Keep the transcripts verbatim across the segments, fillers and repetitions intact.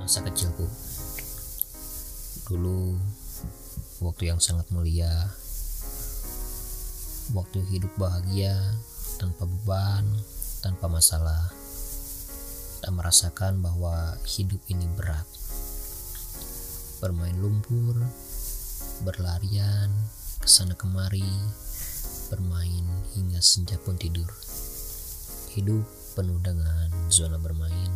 masa kecilku. Dulu waktu yang sangat mulia, waktu hidup bahagia tanpa beban, tanpa masalah. Tak merasakan bahwa hidup ini berat. Bermain lumpur, berlarian kesana kemari, bermain hingga senja pun tidur. Hidup penuh dengan zona bermain.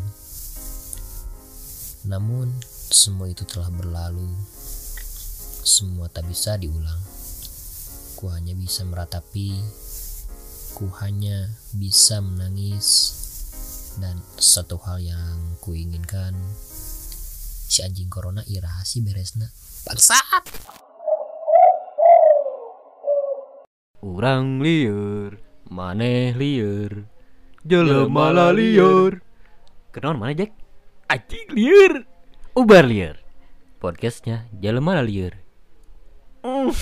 Namun semua itu telah berlalu. Semua tak bisa diulang. Ku hanya bisa meratapi. Ku hanya bisa menangis. Dan satu hal yang ku inginkan, si anjing corona irahasi beresna. Bangsat. Urang lieur, maneh lieur, jelema lieur. Kenaon mana Jack? Anjing lieur, ubar lieur. Podcastnya jelema lieur. Mm.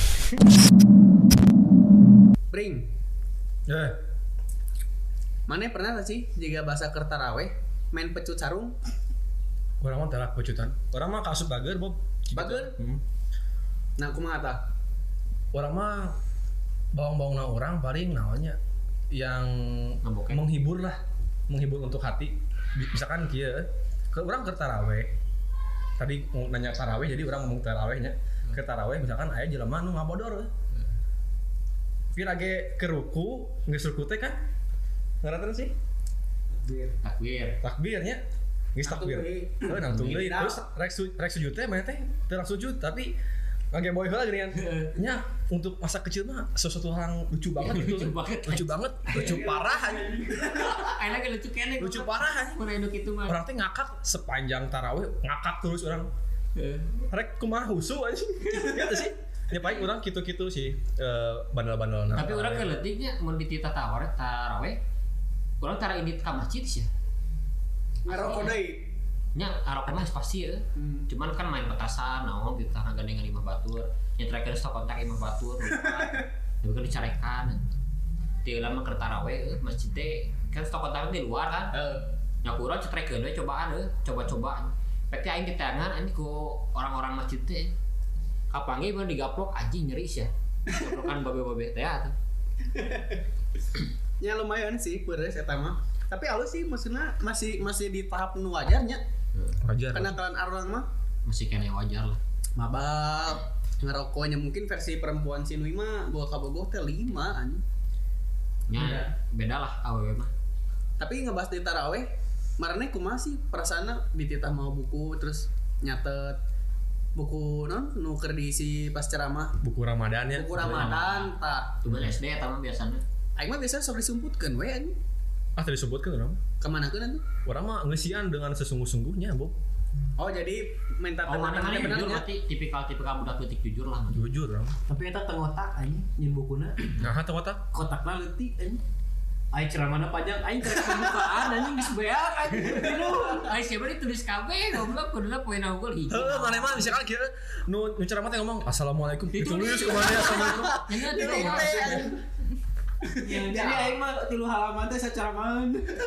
Bring. Eh, Mana pernah gak sih jika bahasa kertaraweh main pecut sarung? orang mah telah pecutan. Orang mah kasut bager, Bob. Bager? Hmm. Nah, aku mengata. Orang mah bawang-bawang na orang paling naonnya yang Ngabokek. menghibur lah, menghibur untuk hati. Misalkan kieu, ke orang ke taraweh. Tadi mau nanya taraweh, jadi orang ngomong tarawehnya. Ke taraweh misalkan aya jelema nu ngabodor. Pira ge ke ruku, geus ruku teh kan? Ngaranna sih? Takbir. Takbirnya. Geus takbir. Heuh nangtung deui. Terus rek su rek sujud teh mah teh teu langsung sujud tapi ngage boy heula geuningan. Nya untuk masa kecil mah sesuatu hal lucu banget itu. Lucu banget. Lucu banget, lucu parah anjing. Ayeuna ge lucu keneh. Lucu parah anjing. Mun anu kitu mah. Orang teh ngakak sepanjang tarawih, ngakak terus orang. Rek kumaha husu anjing. Gitu sih. Ya paling orang kitu-kitu sih eh, bandel-bandel. Tapi urang ke leutiknya mun di tita tawar taraweh. Urang tara ini ka masjid sih. Ngarokok deui. Nya arok mah pasti ya. Hmm. Cuman kan main petasan naon gitu karena gandengan imah batur. Nyetrekeun stok kontak imah batur. Tapi kan dicarekan. Ti lama keur taraweh masjid teh kan stok kontak di luar kan. Heeh. Nya urang cetrekeun we cobaan euy, coba-cobaan. Pek teh aing diteangan anjing ku orang-orang masjid teh. Kapangi mun digaplok anjing nyeri ya. Gaplokan babe-babe teh atuh. Ya lumayan sih beres eta mah. Tapi alus sih maksudnya masih masih di tahap nu wajarnya. Wajar. Kenakalan orang mah Masih kene wajar lah. mabal ngerokoknya mungkin versi perempuan si Nui mah bawa kabogoh teh lima anjing. Nya beda lah awewe mah. Tapi ngebahas di taraweh, marane kumaha sih perasaana dititah mau buku terus nyatet buku non nu keur diisi pas ceramah Buku Ramadan ya. buku Ramadan tah. Tuh S D eta mah biasana. Aing mah biasa sok disumputkeun we anjing. Ah tadi disebutkan orang. Kemanakeun atuh? Orang mah ngeusian dengan sesungguh-sungguhnya, Bob. Oh jadi minta Oh mana mana benernya. jujur berarti tipikal-tipikal budak leutik jujur lah. Jujur, orang. Tapi eta teu ngotak anjing nyeun bukuna. Nah, eta watak. Kotakna leutik anjing. Ai ceramahna panjang aing keur pembukaan anjing geus beak anjing. Ai siapa ditulis kabeh goblok kuduna poena unggul hiji. Heuh, mana mah misalkan kieu nu nu ceramah teh ngomong assalamualaikum. Ditulis ke mana assalamualaikum. Nya Ini tuh. teh. Ya jadi aing mah tilu halaman teh sacaramahan.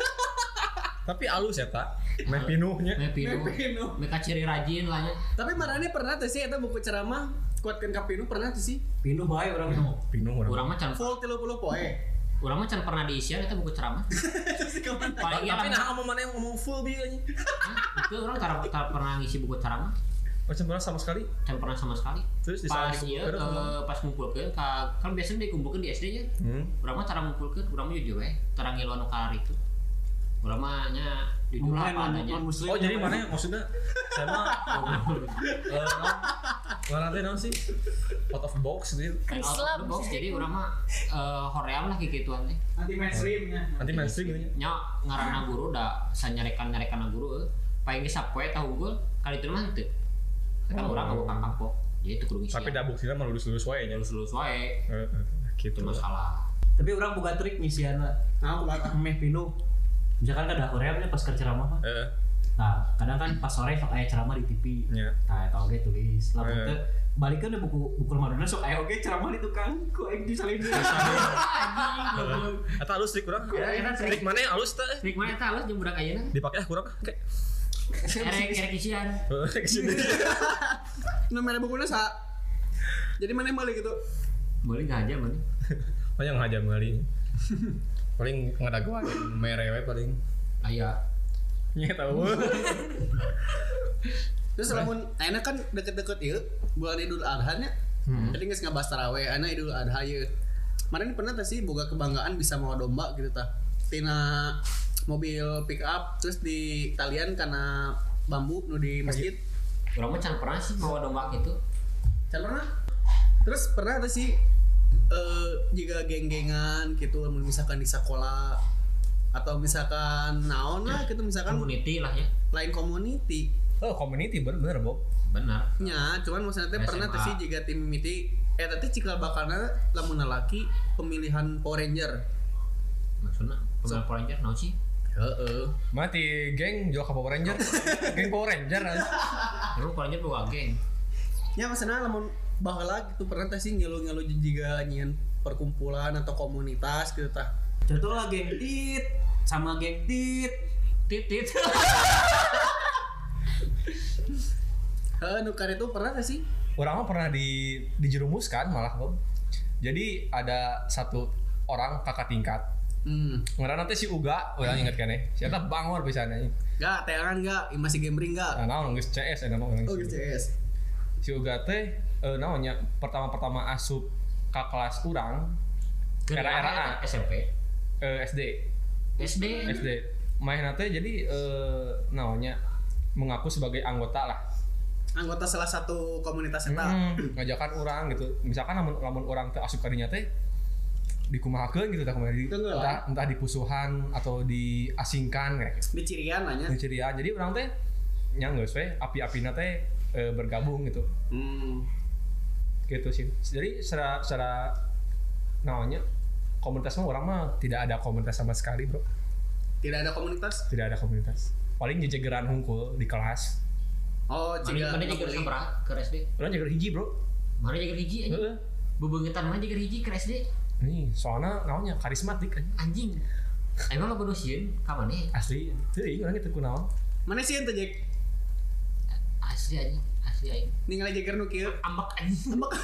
Tapi alus eta. Meh pinuhnya. Me pinu. Pinu. Me ciri rajin lah nya. Tapi marane pernah teh sih eta buku ceramah kuatkeun ka pinu pernah teh sih. Pinuh bae urang mah. Pinuh orang. Urang mah can Full tiga puluh poe. urang mah can pernah diisian eta buku ceramah. Paling Tapi iya nah ngomong mana yang ngomong full bi anjing. itu urang tara tara pernah ngisi buku ceramah. Macam pernah sama sekali. Can pernah sama sekali. Terus di Pas saat ieu dikumpulkeun, eh, pas ngumpulkeun ka kan biasanya dikumpulkeun di S D nya. Hmm. Urang mah cara ngumpulkeun urang mah jujur we. Tara ngilu anu kalar itu. Urang mah nya jujur Mulai apa adanya. non muslim. Oh jadi mana yang maksudnya saya mah eh non teh naon sih out of box gitu. Kan out of the box jadi urang mah eh hoream lah kikituan teh. Anti mainstreamnya. Nanti mainstream gitu nya. Nya ngaranna guru da sanyarekan-nyarekan guru euy. Paling sapoe tah unggul kali itu mah teu. Kan Oh. urang ngabuk kampok. Jadi itu kudu ngisi. Tapi da buksina mah lulus-lulus wae nya. lulus-lulus wae. Heeh, gitu. Itu masalah. Tapi urang boga trik ngisianna. Nah, aku bakal. Meh pinuh. Misalkan kada horeamnya pas keur ceramah mah. Heeh. Nah, kadang kan pas sore sok aya ceramah di T V. Nya. Nah, eta oge tulis. Lamun Eh. teu balikeun deh buku buku Ramadan sok aya oge ceramah di tukang ku aing disalin. Eta alus trik urang. Ya, eta trik. Trik mana yang alus teh? Trik mana eta halus jeung budak ayeuna? Dipake ah kurang kayak Erek erek isian. Kesini. Nu mere bukuna sa. Jadi mana yang balik gitu? Boleh enggak aja, boleh. Banyak ngajak meuli. Paling ngadagu aja mere we paling. Aya. Nya tahu. Terus lamun ayeuna kan deket-deket ieu bulan Idul Adha nya. Tadi geus ngabahas tarawih, ayeuna Idul Adha ieu. Kemarin pernah teh sih boga kebanggaan bisa mawa domba gitu tah. Tina mobil pick up terus di talian karena bambu nu di masjid. Urang mah can pernah sih bawa domba gitu. Can pernah? Terus pernah tuh sih eh jika geng-gengan gitu misalkan di sekolah atau misalkan naon lah gitu misalkan Community lah ya. lain community Oh, community bener-bener, Bob. Benar. nya cuman maksudnya teh S M A. pernah tuh sih jika tim mimiti eh tadi cikal bakalna lamun laki pemilihan Power Ranger. Maksudnya pemain Power Ranger naon sih? Heeh. Mati geng jual ke Power Ranger. Geng Power Ranger. Lu Power Ranger bawa geng. Nya maksudnya lamun baheula gitu pernah teh sih ngilu-ngilu jiga nyieun perkumpulan atau komunitas gitu tah. Contoh lah geng tit sama geng tit. Titit. Heeh, nu kan itu pernah gak sih? Orang mah pernah di dijerumuskan malah, Bob. Jadi ada satu orang kakak tingkat. Hmm. Ngaranna teh si Uga, urang inget kan ya. Si eta bangor pisanna. Gak, teangan gak, masih gambling gak? Nah, naon geus C S eta mah urang. Oh, gitu C S. Si Uga teh eh, naonnya pertama-pertama asup ke kelas urang era-eraan S M P. eh, S D. S D. S D. Mainna teh jadi eh, naonnya mengaku sebagai anggota lah. Anggota salah satu komunitas eta. Hmm, ngajakan orang gitu. Misalkan lamun lamun orang teh asup kadinya teh dikumahakeun gitu tah kumaha di, Tenggelam. entah entah dipusuhan atau diasingkan kayak gitu. Di cirian nanya. Di cirian. Jadi orang teh nya geus we api-apina teh eh, bergabung gitu. Hmm. Gitu sih. Jadi secara secara namanya komunitas mah orang mah tidak ada komunitas sama sekali, Bro. Tidak ada komunitas. Tidak ada komunitas. Paling jejegeran hungkul di kelas. Oh, Mana ciga. mana jaga sabaraha ke S D? Orang jaga hiji, Bro. Mana jaga hiji anjing? Heeh. Bebeungetan mana jaga hiji ke S D? Nih, soalnya namanya karismatik anjing. Anjing. Emang lo bodoh sieun ka maneh? Asli. Teuing urang teh kunaon. Mana sih ente Jack? Asli anjing, asli aing. Ningali Jagger nu kieu. Ambak anjing. Ambak.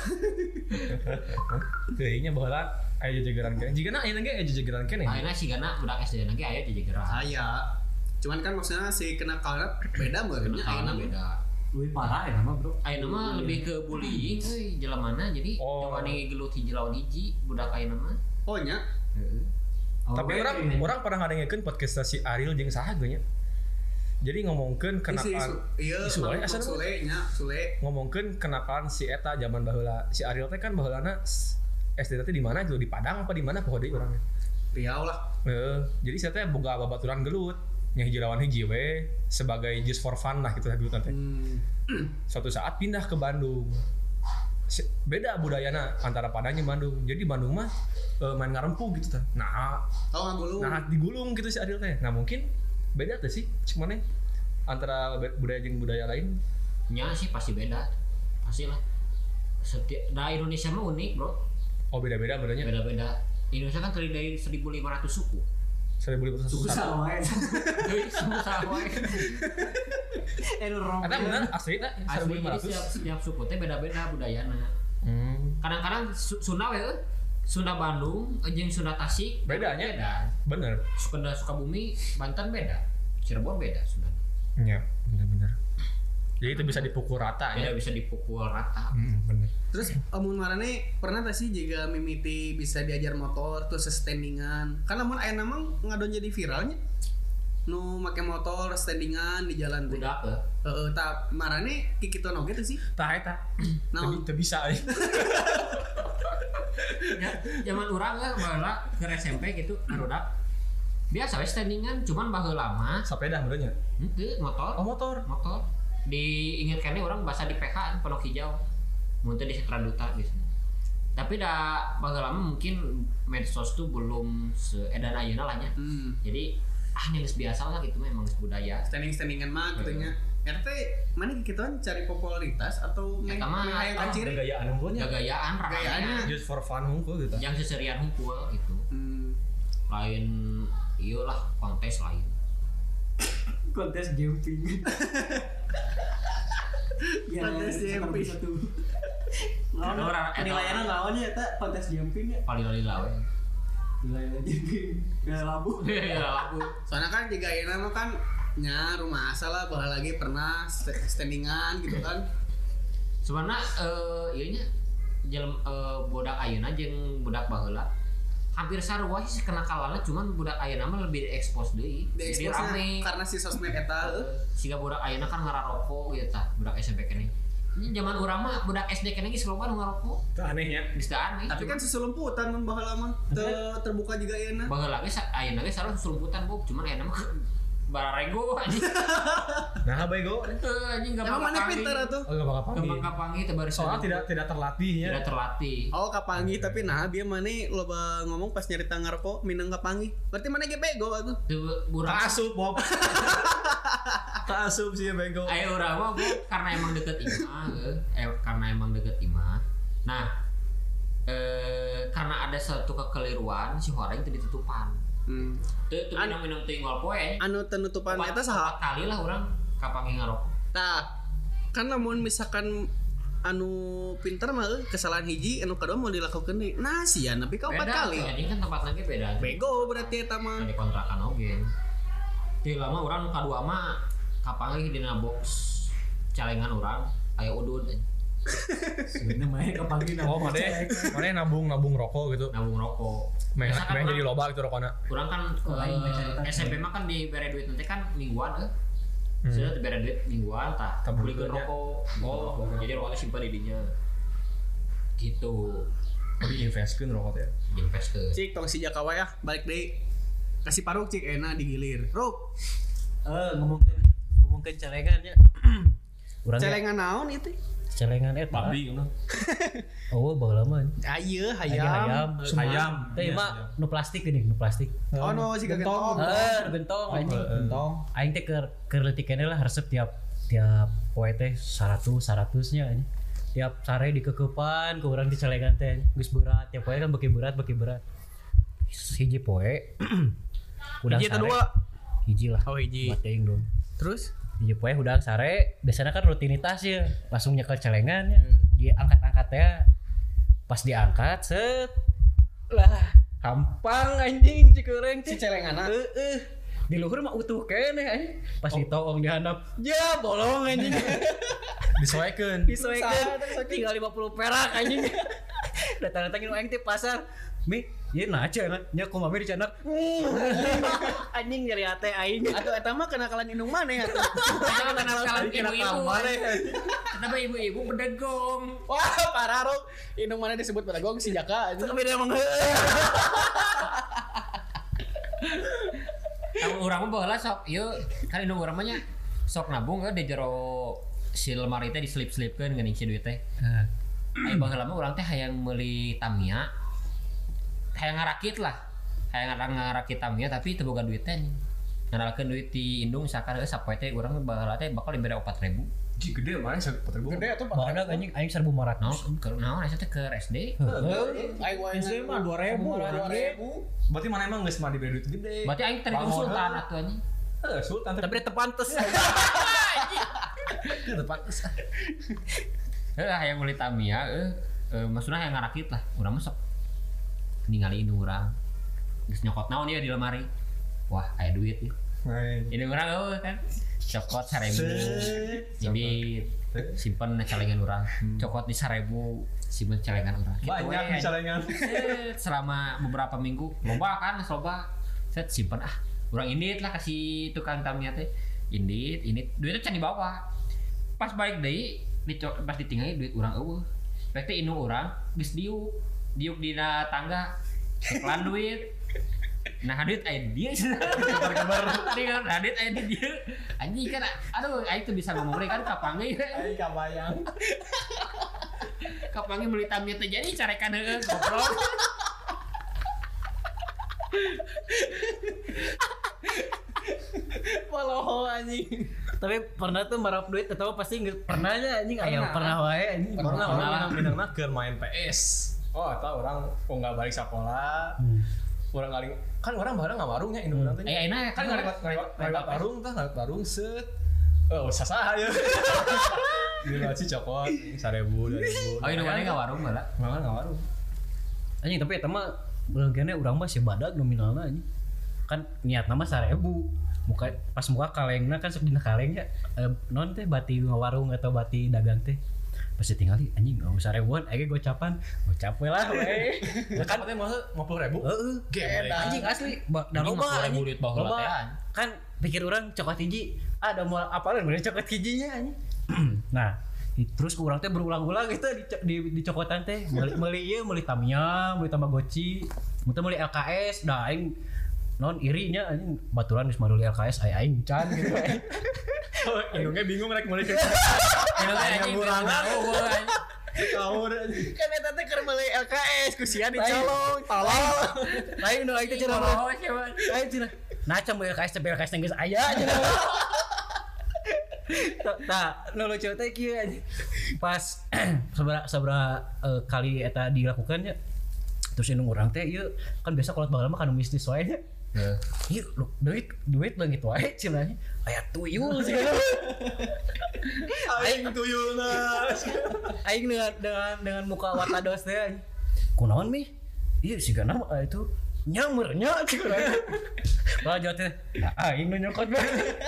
Teuingnya baheula aya jejegeran keneh. Jigana aya ge aya jejegeran keneh. Ayeuna sigana budak S D lagi aya di jageran. Aya. Cuman kan maksudnya si kenakalna beda meureun nya Kenakalanna ayeuna beda. Lebih parah ya nama bro. Ayeuna mah lebih ke bullying euy jelemana jadi Oh. jawani gelut hiji lawan hiji budak ayeuna mah. Oh nya. Heeh. Tapi Oke, orang ini. orang pernah ngadengekeun podcast si Ariel jeung saha geunya. Jadi ngomongkeun Isi kenakalan isu. Iya, isu wae Mahmud asal Sule nya, Sule. ngomongkeun kenakalan si eta zaman baheula. Si Ariel teh kan baheulana S D teh di mana gitu di Padang apa di mana poho deui urang. Riau lah. Heeh, jadi saya teh boga babaturan gelut nya hiji lawan hiji we sebagai just for fun lah gitu gelut teh. Hmm. Suatu saat pindah ke Bandung. Si- Beda budayana antara Padang jeung Bandung. Jadi Bandung mah eh, main ngarempu gitu teh. Nah, Oh, ngagulung. nah digulung gitu si Ariel teh. Nah, mungkin beda tuh sih cuman nih antara be- budaya jeung budaya lain. Nya sih pasti beda. Pasti lah. Setiap da Indonesia mah unik, Bro. Oh, beda-beda bedanya. Beda-beda. Indonesia kan terdiri dari seribu lima ratus suku. seribu lima ratus Susah wae. Euy, susah wae. Eh rong. Eta bener asli teh Asli seribu lima jadi ratus. setiap, setiap suku teh beda-beda budayana. Hmm, Kadang-kadang Su- Sunda we euy. Sunda Bandung jeung Sunda Tasik Bedanya? beda. bener. Sunda Sukabumi, Banten beda. Cirebon beda Sunda. Iya, bener-bener. Jadi itu bisa dipukul rata ya. Beda bisa dipukul rata. Hmm, bener. Terus amun marane pernah tak sih jika mimiti bisa diajar motor terus standingan. Kan amun aya nama ngadon jadi viralnya. Nu make motor standingan di jalan teh. Budak euy. Heeh, tak marane kikitu oge teh sih. Tah eta. Naon? Teu bisa ya. Ya, zaman urang lah baheula ke S M P gitu barudak. Biasa we standingan cuman baheula mah Sepeda benernya. henteu motor. Oh, motor. Motor. Diingatkannya orang bahasa di P K Pondok Hijau. Muntah di Setra Duta biasanya. Tapi dah baheula mah mungkin medsos tuh belum seedan ayeuna lah nya. Hmm. Jadi ah yang geus biasa lah gitu mah emang geus budaya. Standing-standingan mah gitu nya. R T mana kikituan cari popularitas atau main Eta mah, main hayang ah, kaciri? Gayaan unggulnya. Gagayaan Gagayaannya. rakyatnya Just for fun unggul gitu. yang seserian hungkul gitu. Hmm. Lain iyalah kontes lain. kontes jumping. Ya, Kontes jumping. satu. Naon Orang- penilaianna naonnya eta kontes jumping ya? paling lila we. Penilaian jumping. Ya labu. Ya lagu. Soalnya kan juga enak mah kan nya rumah asal lah bahala lagi pernah st- standingan gitu kan. Sebenarnya eh ieu nya jelem eh, budak ayeuna jeung budak baheula hampir sarua sih kenakalana cuman budak ayeuna mah lebih diekspos deui. Di Jadi expose rame. karena si sosmed eta heuh. Siga budak ayeuna kan ngararoko gitu tah, budak S M P keneh. Ini zaman urang mah budak S D keneh geus loba nu ngaroko. Itu anehnya. Geus teu aneh. Tapi kan seselumputan mun baheula mah teu terbuka juga ayeuna. baheula ge sa- ayeuna ge sarua selumputan bu, cuman ayeuna mah bararego anjing. Nah, bego. Heuh anjing gampang Emang mana kapangi. pinter atuh? Oh, gampang apa Gampang kapangi teu bari Soalnya saja. tidak tidak terlatih ya. tidak terlatih. Oh kapangi tapi nah dia mana loba ngomong pas nyarita ngaroko minang kapangi. Berarti mana ge bego atuh. Teu urang Kaasup, Bob. Kaasup sih bego. Ayo urang mah Bu, karena emang deket imah, eh, eh, karena emang deket imah. Nah, eh karena ada satu kekeliruan si horeng teu ditutupan. Hmm. Teu teu An- minum-minum teuing ngol poe. Anu penutupan Empat- eta saha? empat kali lah urang kapangi ngarok. Nah, kan namun misalkan anu pinter mah euy, kesalahan hiji anu kedua mau dilakukan deui. Nah, sian tapi ka empat kali. Jadi kan tempat lagi beda. Bego berarti eta mah. Di kontrakan oge. Teu lama urang nu kadua mah kapangi dina box calengan urang aya udud Sebenarnya mah kapangi Oh, mana? Mana nabung nabung rokok gitu. nabung rokok. Main Biasa kan main urang- jadi loba gitu rokokna. Kurang kan Oh, lain eh, mencari S M P mah kan di bere duit nanti kan mingguan eh. Hmm. Sudah bere duit mingguan tah. Tabung Beli kerja. rokok. Oh, jadi rokoknya simpan di dinya. Gitu. Tapi investkeun rokok ya. Invest ke. Cik tong si Jakawa ya, balik deui. Kasih paruk cik enak digilir. Ruk, Eh ngomongkeun ngomongkeun celengan ya. Urang ge celengan naon itu? celengan eta. Babi ngono. Oh, baheula mah. Ayeuna Aya hayam. hayam. Hayam. Teh Iya, mah iya. nu plastik geuning, nu plastik. Oh no si gentong. Heuh, gentong anjing. Gentong. Aing teh keur keur leutik keneh lah resep tiap tiap poe teh seratus seratusnya anjing. Tiap sare dikekeupan ke urang di celengan teh geus berat. Tiap poe kan beki berat, beki berat. Hiji poe. Udang Hiji atau sare. dua? Hiji lah. Oh hiji. Buat teuing dong. Terus? Hiji poe udang sare, biasanya kan rutinitas ya. Langsung nyekel celengan ya. Dia angkat-angkat ya. Pas diangkat set. Lah, gampang anjing cikureng Si celengana. Heeh. Di luhur mah utuh keneh anjing. Pas ditoong di handap, ya bolong anjing. Disoekeun. Disoekeun tinggal lima puluh perak anjing. Datang-datang nu aing teh pasar. Mi, ieu naca na, nya kumaha di canak. Anjing nyari ate aing. Atau eta mah kenakalan indung maneh atuh. Jangan kenal-kenalan Kira ibu-ibu. kamar Kenapa ibu-ibu bedegong? Wah, parah Ruk. Indung maneh disebut pedagog si Jaka. Itu beda emang heueuh. Tahu urang mah baheula sok ieu kan indung urang mah nya sok nabung eh, di jero si lemari teh diselip-selipkeun geuning si duit teh. Ayo baheula mah urang teh hayang meuli Tamiya. Hayang ngarakit lah. Hayang ngarang ngarakit Tamiya tapi teu boga duit teh. Ngaralkeun duit di indung misalkan euy sapoe teh urang baheula teh bakal dibere opat ribu. Ji gede mana empat ribu. Gede atuh Bahanna anjing aing seribu lima ratus. Naon keur naon asa teh keur S D. Aing wae S D mah dua ribu. dua ribu. Berarti mana emang geus mah diberi duit gede. Berarti aing teh Bangun. sultan atuh anjing. Eh, sultan Tapi dia tepantes. tapi tepat. Heuh hayang meuli Tamiya euy. Eh maksudna hayang ngarakit lah. Urang mah sok ningali indung urang. Geus nyokot naon ieu di lemari. Wah, aya duit ieu. Main. Indung urang eueuh kan. Cokot seribu. Jadi simpen celengan urang. Cokot di seribu, simpen celengan urang. Gitu Banyak we, di celengan. Set, selama beberapa minggu loba kan loba. Set simpen ah. Urang indit lah kasih tukang Tamiya teh. Indit, indit. Duitnya can dibawa. Pas balik deui, dico- pas ditinggali duit urang eueuh. Bek teh indung urang geus diuk. Diuk dina tangga. Iklan duit. Nah, duit aya di dieu. Kabar-kabar tadi kan nah, duit aya di dieu. Anjing kan aduh aing tuh bisa ngomong deui kan kapange. Aing kabayang. Kapange meuli Tamiya teh jadi carekan heeh goblok. Paloho anjing. Tapi pernah tuh marap duit atau pasti nggak pernahnya anjing aya pernah wae anjing. Pernah Pernah. orang minang-minang keur main P S. Oh, eta orang kok enggak balik sekolah. Orang kali kan orang bareng nggak warungnya indung orang teh. Eh enak Kan nggak lewat warung tah, nggak warung set. Oh, sasa aja. Di Laci cokot seribu dua ribu. Oh indung mana nggak warung malah. Malah nggak warung. Anjing tapi eta mah beulangkeunna urang mah si badag nominalna anjing. Kan niatna mah seribu. Muka pas muka kalengna kan sok dina kaleng ya. E, non teh bati warung atau bati dagang teh. Pas ditinggali anjing enggak usah ribuan, age gocapan. Gocap we lah we. Kan teh mah lima puluh ribu. Heeh. Anjing asli da Anjing mah loba sepuluh ribu duit baheula Loba. teh, anjing. Kan pikir orang coklat hiji ada mau apalin bener coklat hijinya anjing. Nah, i- terus urang teh berulang-ulang gitu di di, di cokotan teh meuli meuli ieu meuli Tamiya, meuli Tamagotchi, muntah meuli L K S, da aing non irinya anjing baturan geus maduli L K S ai aing can gitu. Indungnya bingung rek mulai ke. Indung teh anjing ngurangan. eueuh anjing. Tahu deh. Kan eta teh keur meuli L K S ku sia dicolong, tolong. Lain nu aing teh cenah. Oh, siapa? Aing cenah. Nah, can meuli L K S teh L K S teh geus aya cenah. Tah, nu lucu teh kieu anjing. Pas sabaraha sabaraha eh, kali eta dilakukannya terus indung urang teh ieu kan biasa kolot baheula mah kanu mistis wae nya. Heeh. Iya, lu duit duit lah gitu aja cenanya. Aya tuyul segala. Aing tuyulna. Aing dengan dengan dengan muka watados teh. anjing. Kunaon mi? Iya sigana mah itu nyamernya cenah. Lah jawab teh, "Nah, aing nu nyokot bae."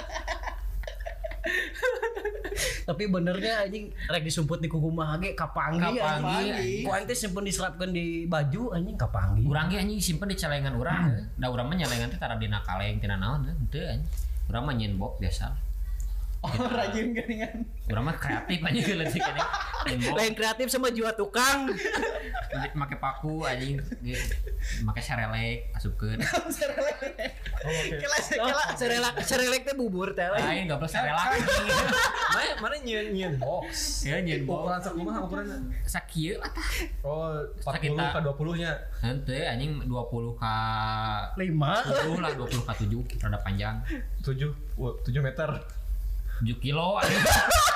Tapi benernya anjing rek disumput di kuku mah ge kapanggi Kapanggi. Ku aing teh simpen diserapkeun di baju anjing kapanggi. Urang ge anjing simpen di celengan urang. Da urang mah nyalengan teh tara dina kaleng tina naon henteu anjing. Urang mah nyeun box biasa. Oh, rajin geuningan. Urang mah kreatif anjing leutik anjing. Nyeun box. Lain kreatif sama jiwa tukang. Make paku anjing. Make serelek asupkeun. Kela Kela serelak serelek teh bubur teh. Lain goblok serelak anjing. Mana mana nyeun nyeun box. Ya nyeun box. Ukuran sakumaha ukuranna? Sakieu atah. Oh, empat puluh Sakita. ke dua puluh-nya. Henteu anjing dua puluh ka lima tujuh lah dua puluh ka tujuh rada panjang. tujuh tujuh meter. tujuh kilo anjing.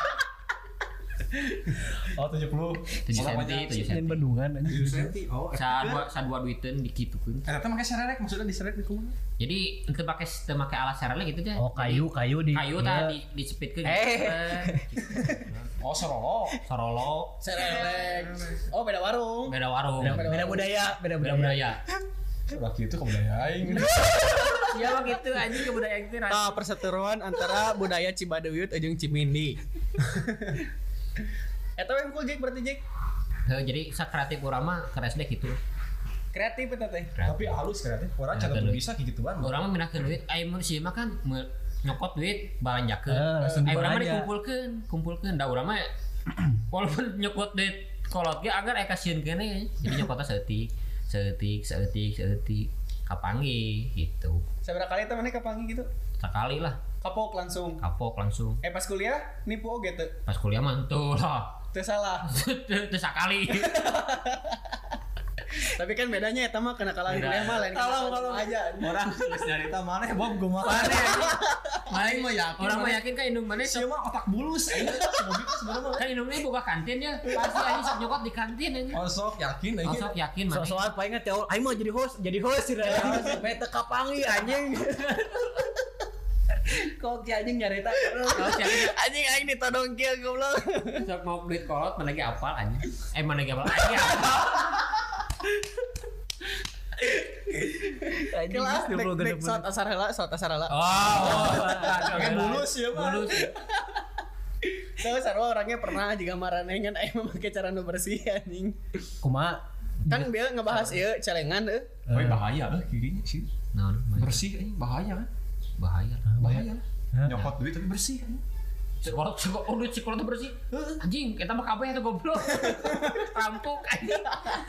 Oh, tujuh puluh. tujuh senti, tujuh senti. dan bendungan anjing. tujuh senti. Oh, Sa dua sa dua duiteun dikitukeun. eta teh make serelek maksudnya diserelek di kumaha? Jadi teu make teu make alat serelek gitu teh. Oh kayu kayu di Kayu iya. tah di disepitkeun. Eh. Oh, sorolo. Sorolo serelek. Oh, beda warung. beda warung. beda, beda budaya beda Beda budaya. budaya. Udah gitu kebudayaan aing. Iya mah gitu anjing kebudayaan itu. Tah perseteruan antara budaya Cibadeuyut jeung Cimindi. Eta we hukul Jek berarti Jek. Heuh, jadi sa kreatif urang mah keres deh gitu. Kreatif eta teh. Tapi halus kreatif. Orang Kreatif. jangan bisa gitu kan. Urang mah minahkeun duit, aya mun si mah kan me- nyokot duit balanjakeun. Eh, langsung Aya urang mah dibelanja. dikumpulkeun, kumpulkeun. Da urang mah walaupun nyokot duit kolot ge agar aya kasieun keneh. Jadi nyokotna saeutik, saeutik, saeutik, saeutik. Kapangi gitu. Sabaraha kali teh maneh kapangi gitu? Sekali lah, Kapok langsung. kapok langsung. Eh pas kuliah nipu oge teu. Pas kuliah mah tuh lah. Teu salah. Teu sakali. Tapi kan bedanya eta mah kenakalan Beda. kuliah mah lain Tolong, kenakalan tolong. aja. Orang geus nyarita maneh Bob kumaha. Aing mah yakin. Orang mah yakin kan indung mana Sia mah otak bulus aing. Si Bobi teh sebenarnya mah. kan indung ini buka kantin ya. Pasti anjing sok nyokot di kantin anjing. Oh, sok yakin aing. Oh, sok yakin So mana. soal paling teh aing mah jadi host, jadi host sih ya. Beta kapangi anjing. Kok ki anjing nyarita terus. Kalau si anjing Anjing aing ditodong kieu goblok. sok mau duit kolot mana lagi apal anjing. Eh mana lagi apal anjing. apal. Anjing Kelas dua puluh dek dek genep. saat asar heula, saat asar heula. Oh, oh. Kayak bulus ya, Pak. Bulus. Tahu sarua orangnya pernah juga maranengan aing memakai cara nu bersih anjing. Kumaha? Kan dia ngebahas ieu celengan euy. Oh, bahaya lah kirinya sih. Nah, Bersih aing bahaya kan. bahaya. Bahaya. Nyokot duit tapi bersih kan. Sekolot sekolot oh duit sekolot tuh bersih. Anjing, kita mah kabeh tuh goblok. Rampok anjing.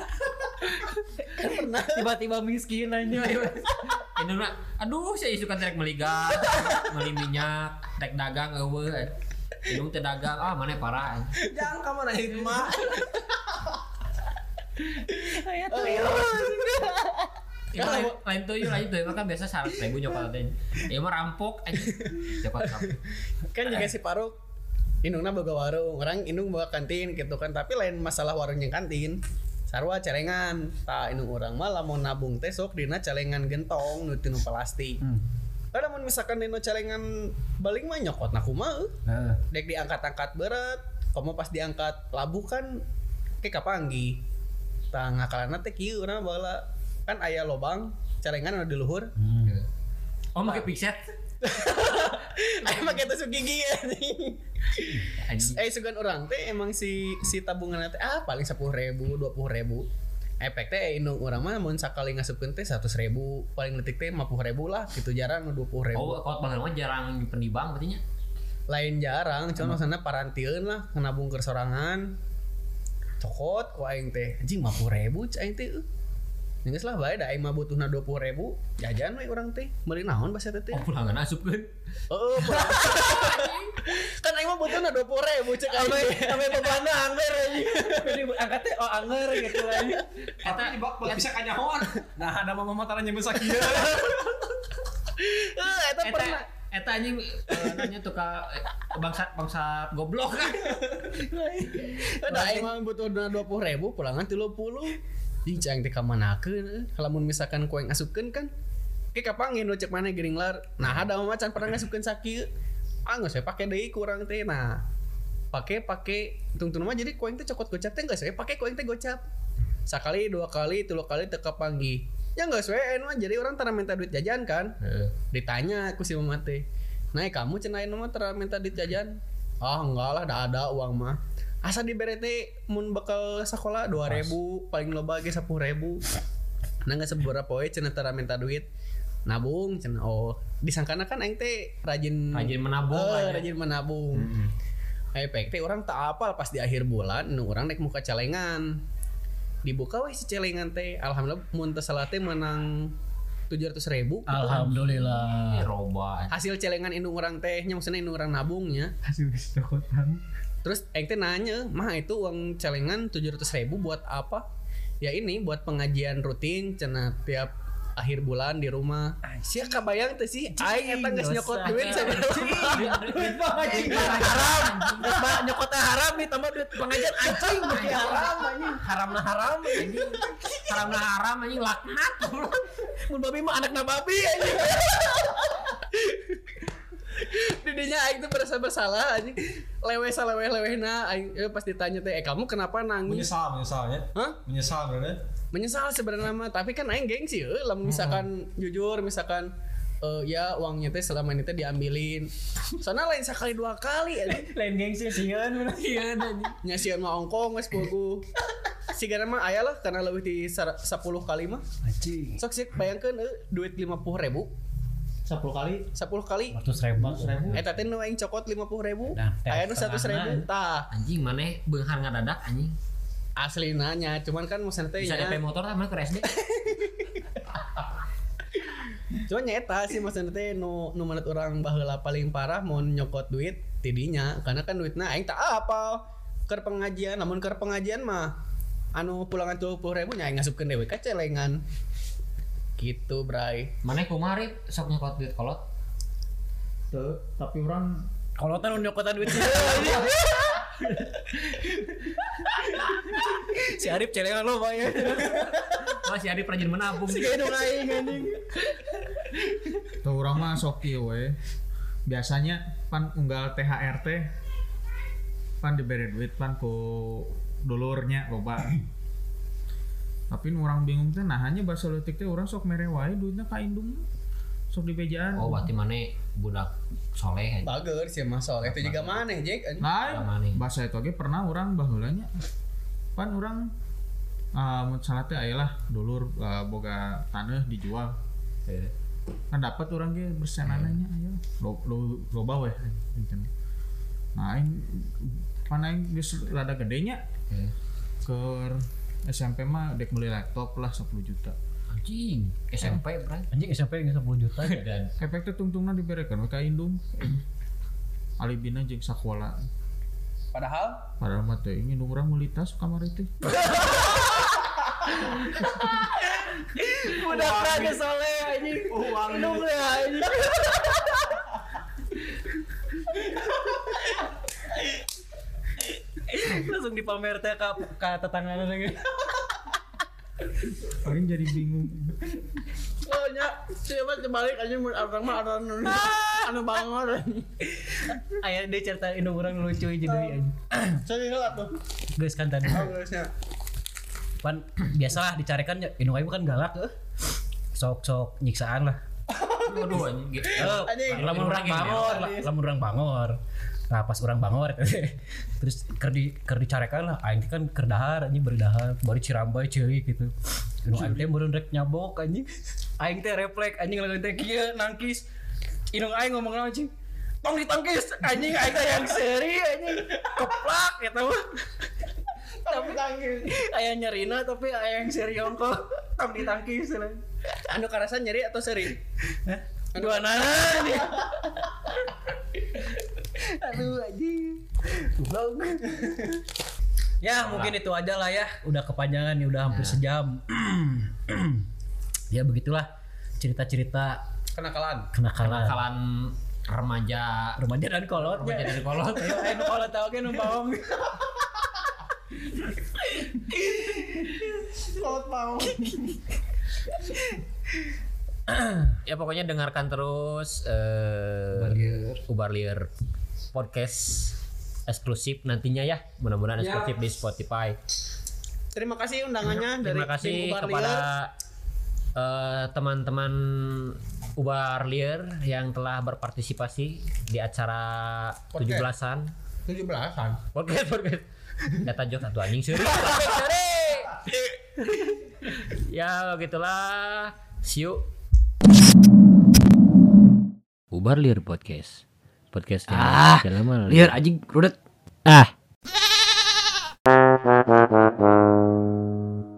Tiba-tiba miskin anjing. Ini mah aduh saya suka trek beli gas, beli minyak, trek dagang eueuh. Indung teh dagang, ah mana parah. Jangan kamu nanya mah. Aya tuyul. Ya, lain, lain tuh yuk, lain tuh yuk, kan biasa seratus ribu nyokot teh. Ya mah rampok aja. Nyokot rampok. Kan juga si Paruk Indungna boga warung, orang Indung bawa kantin gitu kan, tapi lain masalah warungnya kantin. sarua celengan tah inu urang mah lamun nabung teh sok dina celengan gentong nu tinu plastik. Hmm. Kada mun misalkan dina celengan baling mah nyokotna kumaha Heeh. dek diangkat-angkat berat komo pas diangkat labuh kan ke kapanggi tah ngakalana teh kieu urang baheula kan aya lobang celengan anu di luhur. Oh make pixet. Aya make tusuk gigi anjing. Anjing. Eh sugan orang teh emang si si tabungan teh ah paling sepuluh ribu dua puluh ribu. Efek teh indung orang mah mun sakali ngasupkeun teh seratus ribu paling letik teh lima puluh ribu lah gitu jarang dua puluh ribu. Oh, kalau baheula mah jarang nyimpen di bank berarti nya. Lain jarang cuma maksudna parantieun lah nabung keur sorangan. Cokot ku aing teh anjing lima puluh ribu cai aing teh. Geus lah bae da aing mah butuhna dua puluh ribu jajan we urang teh meuli naon basa teh. Oh, pulangan asupkeun. Heeh. Kan aing mah butuhna dua puluh ribu cek aing. Ame bebanna angger anjing. Jadi angkat teh oh angger gitu anjing. Eta di bak bisa kanyahoan. Nah, ada mama mataran yang besar kieu. Eh eta Eta pernah eta anjing eh, nanya tuh ka eh, bangsa bangsa goblok kan. ada aing mah butuhna dua puluh ribu pulangan tiga puluh. Ih cang teh ka manakeun lamun misalkan ku aing asupkeun kan ke kapangin nu cek maneh gering lar. Nah ada mah macan pernah ngasupkeun sakieu. Ah geus we pake deui kurang teh. Nah pake pake tungtung mah jadi ku aing teh cokot gocap teh geus we pake ku aing teh gocap. Sakali dua kali tilu kali teu kapanggi. Ya geus we anu mah jadi orang tara minta duit jajan kan. Heeh. Ditanya ku si mama teh. Nah kamu cenah anu mah tara minta duit jajan. Ah enggak lah da ada uang mah. Asa dibere teh mun bakal sekolah dua ribu paling loba ge sepuluh ribu. Nah geus sabaraha poe cenah tara minta duit. Nabung cenah oh disangkana kan aing teh rajin Rajin menabung Eh, lah ya. rajin menabung. Heeh. Efek teh urang tak apal pas di akhir bulan nu urang naik muka celengan. Dibuka we si celengan teh alhamdulillah mun teu salah teh menang tujuh ratus ribu gitu. Alhamdulillah. Ih, roba. Hasil celengan indung orang tehnya maksudnya indung orang nabungnya. Hasil geus cokotan. Terus aing teh nanya, "Mah itu uang celengan tujuh ratus ribu buat apa?" Ya ini buat pengajian rutin cenah tiap akhir bulan di rumah. Sia kabayang teh sih aing eta geus nyokot duit sabaraha. Duit pengajian haram. Ba nyokotnya haram nih tambah duit pengajian anjing bagi haram anjing. Haramna haram anjing. Haramna haram anjing laknat. Mun babi mah anakna babi anjing. Didinya aing tuh merasa bersalah anjing. Lewe saleweh-lewehna aing eh, pas ditanya teh, "Eh kamu kenapa nangis?" Menyesal, menyesalnya. Hah? Menyesal bener. Menyesal sebenarnya mah, tapi kan aing gengsi euy, lamun misalkan jujur misalkan eh, ya uangnya teh selama ini teh diambilin. Soalnya lain sekali dua kali anjing. Lain gengsi sieun bener. Iya anjing. Nyasieun mah ongkong geus bogu. Sigana mah aya lah karena lebih di sepuluh kali mah. Anjing. Sok sih bayangkeun euy duit lima puluh ribu sepuluh kali sepuluh kali ratus ribu. eta teh nu aing cokot lima puluh ribu Nah, teh aya nu seratus ribu setengahna. tah Anjing maneh beunghar ngadadak anjing. asli nanya cuman kan maksudnya teh Bisa D P nya motor sama ke S D. cuman nyeta sih maksudnya teh nu nu menurut orang baheula paling parah mau nyokot duit tidinya karena kan duitna aing tak apal keur pengajian namun keur pengajian mah anu pulangan dua puluh ribu nya aing ngasupkeun dewe ka celengan gitu bray. Maneh kumaha Rip sok nyokot duit kolot. tuh tapi orang Kolotan nyokotan duit sih. Si Arif celengan lo bayar. Oh si Adi rajin menabung. Si kayak dong aing anjing. Tuh orang mah sok ieu we. Biasanya pan unggal T H R teh pan diberi duit pan ku dulurnya loba. Tapi nu urang bingung teh nah hanya bahasa leutik teh urang sok mere wae duitna ka indung. Sok dibejaan. Oh berarti maneh budak soleh aja. Bager sih mah soalnya itu juga maneh Jack. Lain Maneh. bahasa itu ge pernah urang baheula nya. Pan urang ah mun salah teh aya lah dulur uh, boga taneuh dijual. Heeh. Kan dapat orang ge bersenananya aya lo lo loba we nah aing pan aing geus rada gedenya Heeh. keur S M P mah dek beli laptop lah sepuluh juta Anjing, S M P bray. Anjing S M P geus sepuluh juta dan efek teh tungtungna diberekeun we ka indung alibina jeung sakola Padahal padahal mah teh ingin urang meuli tas kamari teh udah kagak soleh anjing. Uang dong ya anjing. Langsung dipamer teh ka ka tetanggana lagi. Paling jadi bingung. Oh nya, siapa terbalik aja mun orang mah orang anu bangor. Aya deui cerita inu urang lucu hiji deui anjing. Saya heula tuh. Geus kan tadi. Oh geusnya. Pan biasalah dicarekan ya inu aing kan galak heuh. Sok-sok nyiksaan lah. Waduh anjing. Eh, lamun urang bangor, la- lamun urang bangor. Nah pas orang bangor terus ker di ker dicarekan lah aing teh kan keur dahar anjing berdahar baru cirambai ceulik gitu. Inu aing teh meureun rek nyabok anjing. Aing teh refleks anjing lagun teh kieu nangkis. Inu aing ngomong naon anjing. Tong ditangkis anjing aing teh yang seri anjing. Keplak eta mah. Tapi tangkis. Aya nyerina tapi aya yang seri ongko. Tong ditangkis lah. Anu karasa nyeri atau seri? Hah? Dua nana nih. Aduh anjing. Goblok. Ya mungkin itu aja lah ya. Udah kepanjangan nih udah hampir sejam. Ya begitulah cerita-cerita Kenakalan. kenakalan Kalian remaja remaja dan kolot. remaja dari kolot. Ayo ayo kolot tau kan numpang. Kolot mau. Ya pokoknya dengarkan terus eh Ubar Liar podcast eksklusif nantinya ya. Mudah-mudahan eksklusif di Spotify. Terima kasih undangannya dari Terima kasih tim Ubar kepada Liar. eh, teman-teman Ubar Liar yang telah berpartisipasi di acara Podcast. tujuh belasan. tujuh belasan. Podcast podcast. Data jok satu anjing seri. Ya begitulah. See you. Ubar Liar podcast. Podcast yang Ah, lama liar anjing rudet. Ah.